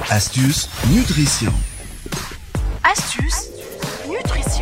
Astuce Nutrition. Astuce Nutrition.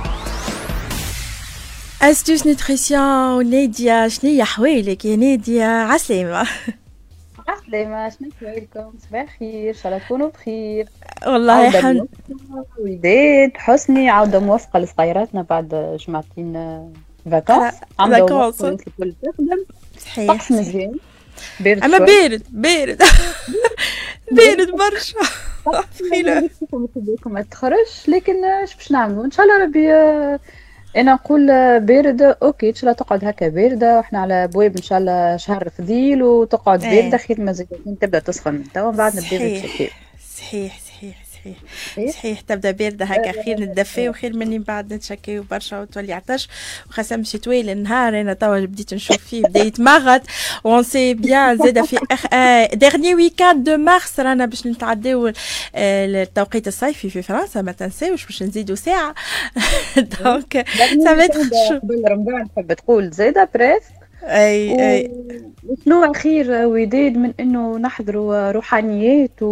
Astuce Nutrition ونادية شنيا حوالك يا نادية عسلامة؟ عسلامة، شنو أحوالكم؟ صباح الخير، إن شاء الله تكونوا بخير. والله الحمد. وليدات حسني عودة موفقة لصغيراتنا بعد جمعتين فاكونس. فاكونس الكل تخدم. صحيح طقس مزيان. بارد أما شوي. بارد بارد برشا. ثقيلة. ما تخرجش، لكن اش باش نعملوا؟ إن شاء الله ربي. انا نقول باردة اوكي، ان شاء الله تقعد هكا باردة، واحنا على ابواب ان شاء الله شهر فضيل وتقعد باردة خير ما زيد تبدا تسخن من توا من بعد نبدا بالشتاء. صحيح صحيح تبدا بارده هكا خير نتدفى وخير مني بعد نتشكيو برشا وتولي عطش وخاصه مشي طويل النهار. انا توا بديت نشوف فيه بدا يتمغط وون سي بيان زاد في ديرني ويكاند دو مارس رانا باش نتعداو التوقيت الصيفي في فرنسا، ما تنساوش باش نزيدوا ساعه دونك سافيت قبل رمضان تحب تقول زاده بريس. اي وشنو خير وداد من انه نحضروا روحانيات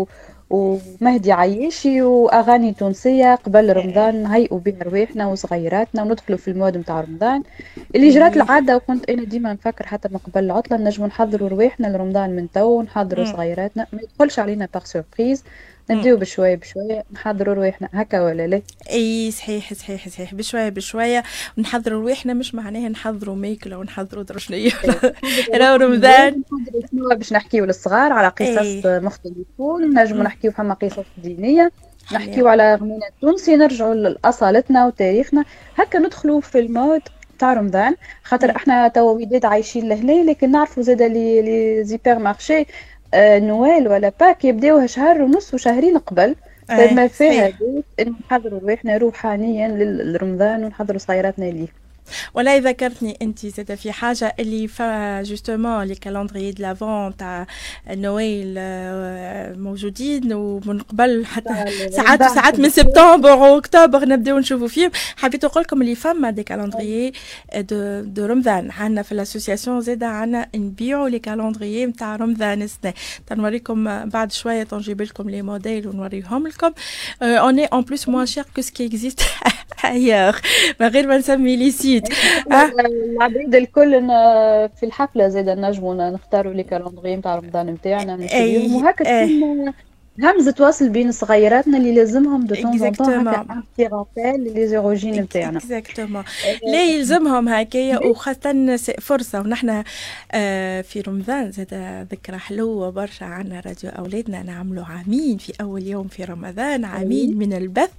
ومهدي عياشي واغاني تونسيه قبل رمضان نهيئوا بها رواحنا وصغيراتنا وندخلوا في المود نتاع رمضان اللي جرات العاده. وكنت انا ديما نفكر حتى من قبل العطله نجموا نحضروا رواحنا لرمضان من تو ونحضروا صغيراتنا، ما يدخلش علينا باغ سوربريز، نبداو بشويه بشويه نحضروا رواحنا هكا ولا لا؟ اي صحيح بشويه ونحضروا رواحنا، مش معناها نحضروا ماكله ونحضروا درشنيه. راهو رمضان شنو باش نحكيو للصغار على قصص مختلفون، نجموا نحكيو فما قصص دينيه، نحكيو على غنينا التونسي، نرجعوا لاصالتنا وتاريخنا، هكا ندخلوا في المود تاع رمضان. خاطر احنا توا وليدات عايشين لهنا، لكن نعرفوا زاده لي زيبر مارشي نويل ولا باك يبداوها شهر ونص وشهرين قبل. فما فيها ان نحضروا رواحنا روحانيا لرمضان ونحضروا صغيراتنا ليه. ولا ذكرتني انت زاد في حاجه اللي جوستومون لي كالندري د لافون تاع نويل موجودين ومن قبل حتى ساعات من سبتمبر واكتوبر نبداو نشوفوا فيهم. حبيت نقول لكم اللي فما دي كالندري دو رمضان عندنا في الاسوسياسيون، زاد عندنا نبيعوا لي كالندري نتاع رمضان السنه. تنوريكم بعد شويه تنجيب لكم لي موديل ونوريهم لكم. اون اي ان بلوس موان شير كو سكي اكزيست ايور من غير ما نسمي لي سيت. العباد الكل في الحفله زاد نجموا نختاروا لي كالندري نتاع رمضان نتاعنا نشريهم وهكا تكون همزه تواصل بين صغيراتنا اللي لازمهم دو طون طون هكا ان بتي رابيل لي زوروجين نتاعنا. اكزاكتومون لا يلزمهم هكايا، وخاصه فرصه ونحن في رمضان زاد ذكرى حلوه برشا. عنا راديو اولادنا نعملوا عامين في اول يوم في رمضان، عامين من البث،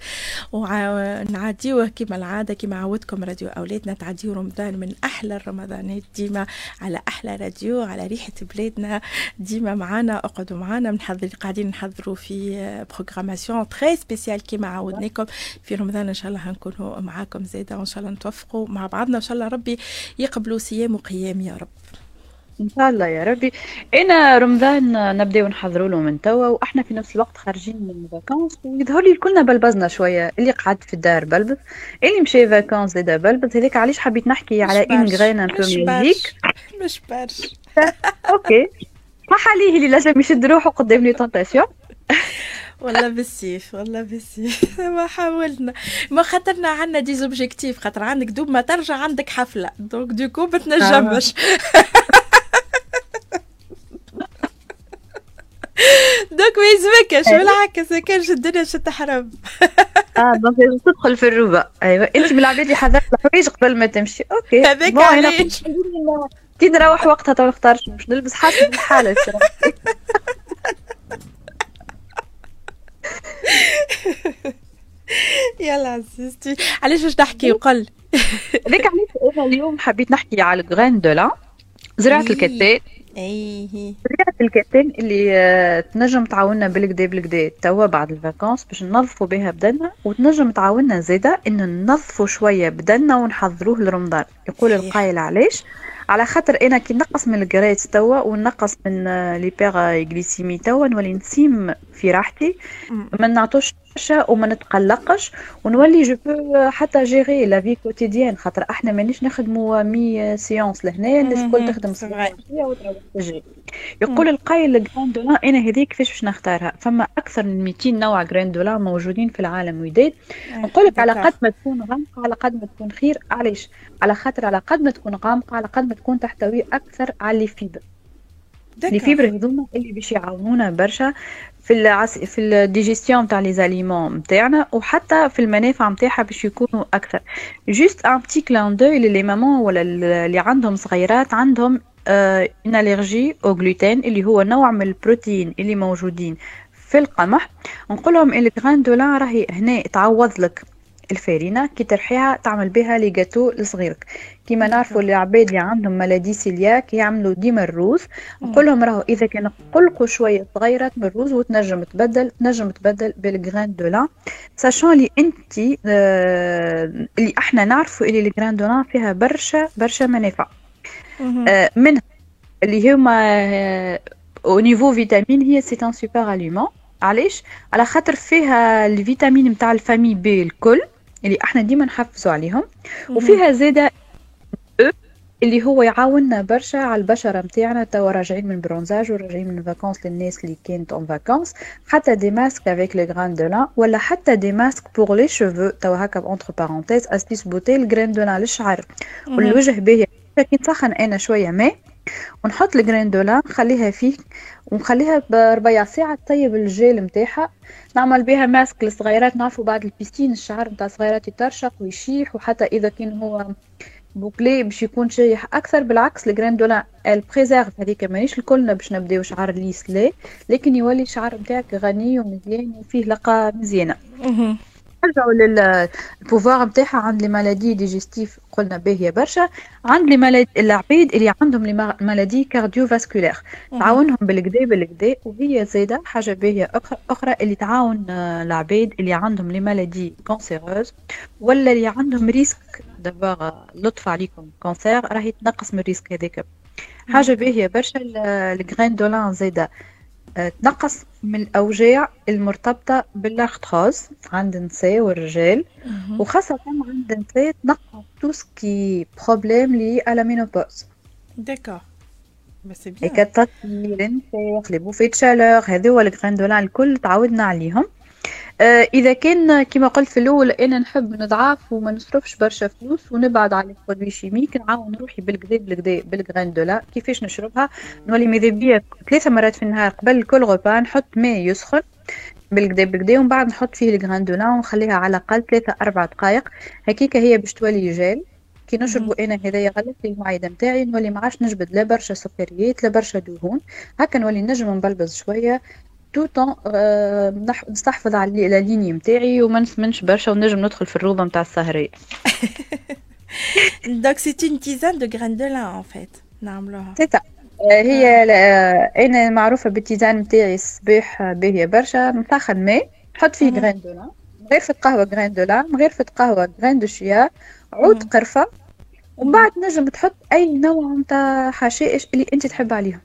ونعديوه كما العاده كما عودكم راديو اولادنا تعديو رمضان من احلى الرمضانات ديما على احلى راديو على ريحه بلادنا. ديما معانا اقعدوا معانا قاعدين نحضروا في بروغراماسيون تري سبيسيال كيما عودناكم في رمضان. ان شاء الله هنكونوا معاكم زاده وان شاء الله نتوفقوا مع بعضنا، وان شاء الله ربي يقبلوا صيام وقيام يا رب ان شاء الله يا ربي. انا رمضان نبداو نحضروا له من توا، واحنا في نفس الوقت خارجين من فاكونس، ويظهر لي كلنا بلبزنا شويه، اللي قعد في الدار بلبز، اللي مشى فاكونس زاده بلبز. هذيك علاش حبيت نحكي على ان غرين ان بو ميوزيك مش برش. اوكي ما حاليه اللي لازم يشد روحه قدام لي تونتاسيون. والله بالسيف ما حاولنا، ما خاطرنا عندنا دي زوبجيكتيف، خاطر عندك دوب ما ترجع عندك حفله دونك دوكو ما تنجمش. دوك ما يزمكش بالعكس، ما كانش الدنيا تحرم. دونك لازم تدخل في الروبه. ايوه انت من العباد اللي حضرت الحوايج قبل ما تمشي. اوكي هذاك علاش كي نروح وقتها تو نختارش باش نلبس حسب الحاله. يلا عزيزتي علاش باش نحكي وقل. هذاك علاش انا اليوم حبيت نحكي على الغرين دو لا، زراعه الكتان. زراعه الكتان اللي تنجم تعاوننا بالكدا توا بعد الفاكونس باش ننظفوا بها بدنا، وتنجم تعاوننا زاده ان ننظفوا شويه بدنا ونحضروه لرمضان. يقول القائل علاش؟ على خاطر انا كي نقص من الجريت توا ونقص من ليبيغ غليسيمي توا نولي نسيم في راحتي، ما نعطوش برشا وما نتقلقش، ونولي جو بو حتى جيري لا في كوتيديان، خاطر احنا مانيش نخدموا 100 سيونس لهنا، الناس الكل تخدم ساعه وتروح تجري. يقول القايل الجراند دولا انا هذيك كيفاش باش نختارها؟ فما اكثر من 200 نوع جراند دولا موجودين في العالم وداد. نقول لك على قد ما تكون غامقه على قد ما تكون خير. علاش؟ على خاطر على قد ما تكون غامقه على قد ما تكون تحتوي اكثر على الفيبر. لي فيبر هذوما اللي باش يعاونونا برشا في الديجيستيون تاع لي زاليمون نتاعنا، وحتى في المنافع نتاعها باش يكونوا اكثر. جوست ان بتي كلان دوي لي مامون ولا اللي عندهم صغيرات عندهم ان الرجي او غلوتين اللي هو نوع من البروتين اللي موجودين في القمح. نقول لهم الجران دولا راهي هنا تعوض لك الفارينه كي ترحيها تعمل بها لي جاتو لصغيرك. كيما نعرفوا العباد اللي عندهم ملادي سيلياك يعملوا ديما الروز، نقول لهم راهو اذا كان قلقوا شويه صغيرات من الروز وتنجم تبدل بالجران دولا، ساشون لي انت اللي احنا نعرفوا اللي الجران دولا فيها برشا منافع. منها اللي هما او نيفو فيتامين، هي سي ان سوبر اليمون. علاش؟ على خاطر فيها الفيتامين نتاع الفامي بي الكل اللي احنا ديما نحفزوا عليهم، وفيها زاده اللي هو يعاوننا برشا على البشره نتاعنا. توا راجعين من برونزاج وراجعين من فاكونس للناس اللي كانت اون فاكونس، حتى دي ماسك افيك لي غران دو لان، ولا حتى دي ماسك بور لي شوفو. توا هكا اونتر بارونتيز استيس بوتي الجران دو لان للشعر والوجه باهي. كي نسخن انا شويه ماء ونحط الجران دولا نخليها فيه ونخليها بربع ساعه تطيب الجيل نتاعها، نعمل بها ماسك للصغيرات. نعرفوا بعد البيستين الشعر نتاع الصغيرات يترشق ويشيح، وحتى اذا كان هو بوكلي باش يكون شايح اكثر. بالعكس الجران دولا البريزيرف هذيك مانيش الكلنا باش نبداو شعر ليس لا، لكن يولي الشعر نتاعك غني ومزيان وفيه لقه مزيانه. نرجعوا للبوفوار نتاعها عند لي مالادي ديجستيف قلنا باهيه برشا. عند لي مالادي العبيد اللي عندهم لي مالادي كارديو فاسكولير تعاونهم بالكدا، وهي زاده حاجه باهيه اخرى اللي تعاون العبيد اللي عندهم لي مالادي كونسيروز ولا اللي عندهم ريسك دابا لطف عليكم كونسير، راهي تنقص من الريسك هذاك. حاجه باهيه برشا. الجرين دولان زاده تنقص من الأوجاع المرتبطة باللاكتوز عند النساء والرجال، وخاصة عند النساء تنقص توسكي بروبليم لي على مينوبوز. داكور بس بيان الكتات الانفاق لي بوفيت شالور هذو الجران دولان الكل تعودنا عليهم. اذا كان كما قلت في الاول انا نحب نضعف وما نصرفش برشا فلوس ونبعد على البرودوي شيميك، نعاون روحي بالكدا بالجران دولا. كيفاش نشربها؟ نولي ماذا بيا 3 مرات في النهار قبل كل غوبا نحط ماء يسخن بالكدا ومن بعد نحط فيه الجران دولا ونخليها على الاقل 3-4 دقائق هكيك، هي باش تولي جيل. كي نشربوا انا هذايا غلط لي المعده نتاعي، نولي ما عادش نجبد لا برشا سكريات لا برشا دهون، هكا نولي نجم نبلبز شويه توتون نستحفظ على لا ليني نتاعي وما نسمنش برشا ونجم ندخل في الروضه نتاع السهريه. دونك سي اون تيزان دو غران دو لان ان فيت نعملوها. هي انا معروفه بالتيزان نتاعي الصباح باهيه برشا. نسخن ماء نحط فيه غران دو لان، مغرفه قهوه غران دو لان، مغرفه قهوه غران دو شيا، عود قرفه، ومن بعد نجم تحط اي نوع نتاع حشائش اللي انت تحب عليهم.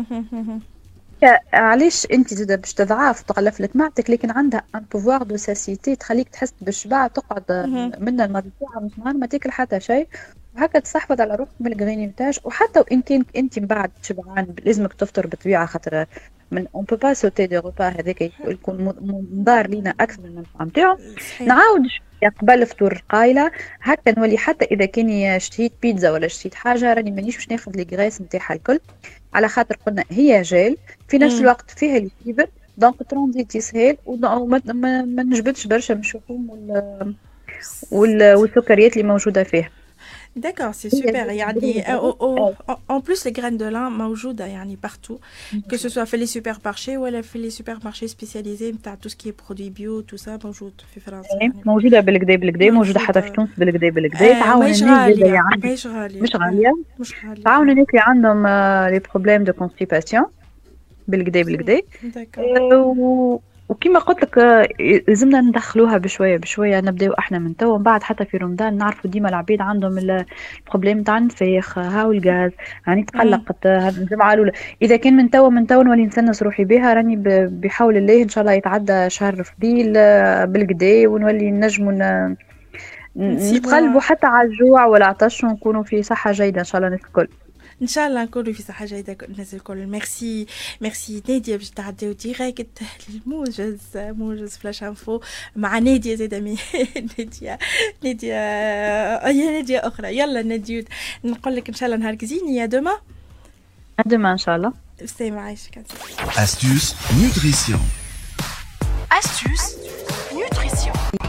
علاش انت زاده باش تضعف تغلف لك معدتك، لكن عندها ان بوفوار دو ساسيتي تخليك تحس بالشبع، تقعد من المرض تاعها مش نهار ما تاكل حتى شيء، وهكا تستحفظ على روحك من الغريني نتاعك. وحتى وان كان انت من بعد شبعان لازمك تفطر بطبيعه، خاطر من اون بو با سوتي دي روبا هذاك يكون مضار لينا اكثر من المنفعه نتاعو. نعاود قبل الفطور قايله هكا نولي حتى اذا كاني شتيت بيتزا ولا شتيت حاجه راني مانيش باش ناخذ لي غريس نتاعها الكل، على خاطر قلنا هي جيل في نفس الوقت فيها الفيبر، دونك ترانزيت يسهل وما نجبدش برشا من الشحوم والسكريات اللي موجوده فيها. D'accord, c'est super. يعني en plus les graines de lin موجودة يعني partout, que ce soit في les supermarchés ولا في les supermarchés spécialisés نتاع tout ce qui est produits bio tout ça موجود في فرنسا. موجودة بالكدا موجودة حتى في تونس بالكدا. تعاون الناس اللي مش غالية تعاون الناس اللي عندهم لي بروبليم دو كونستيباسيون بالكدا. وكما قلت لك لازمنا ندخلوها بشويه بشويه، نبداو احنا من توا، من بعد حتى في رمضان نعرفوا ديما العبيد عندهم البروبليم تاع النفاخ هاو الغاز، راني تقلقت الجمعه الاولى. اذا كان من توا نولي نسنس روحي بها، راني بحول الله ان شاء الله يتعدى شهر فضيل بالكدا ونولي نجموا نتقلبوا حتى على الجوع والعطش ونكونوا في صحه جيده ان شاء الله الناس الكل. ان شاء الله نكونوا في صحه جيده الناس الكل. ميرسي ناديه باش تعديو ديريكت موجز فلاش انفو مع ناديه زاده ناديه هي ناديه اخرى. يلا ناديه نقول لك ان شاء الله نهار كزين يا دوما ان شاء الله. سي معايشك. Astuce Nutrition. Astuce Nutrition.